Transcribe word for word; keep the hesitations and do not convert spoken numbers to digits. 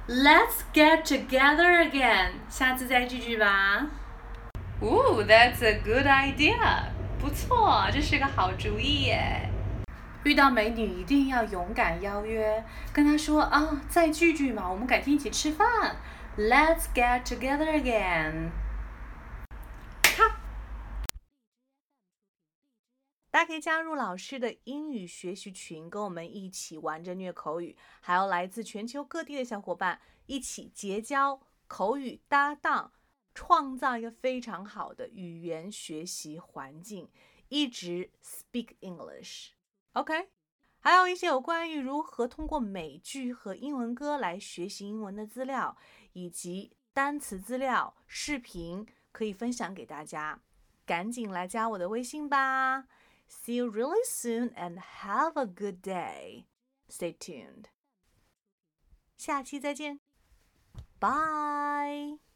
Let's get together again. 下次再聚聚吧。 Ooh, that's a good idea. 不错，这是个好主意耶。 遇到美女一定要勇敢邀约，跟她说啊，再聚聚嘛，我们改天一起吃饭。Let's get together again. 大家可以加入老师的英语学习群，跟我们一起玩着虐口语，还有来自全球各地的小伙伴一起结交口语搭档，创造一个非常好的语言学习环境，一直 speak English。OK？ 还有一些有关于如何通过美剧和英文歌来学习英文的资料，以及单词资料、视频可以分享给大家，赶紧来加我的微信吧。See you really soon and have a good day. Stay tuned. 下期再见。Bye.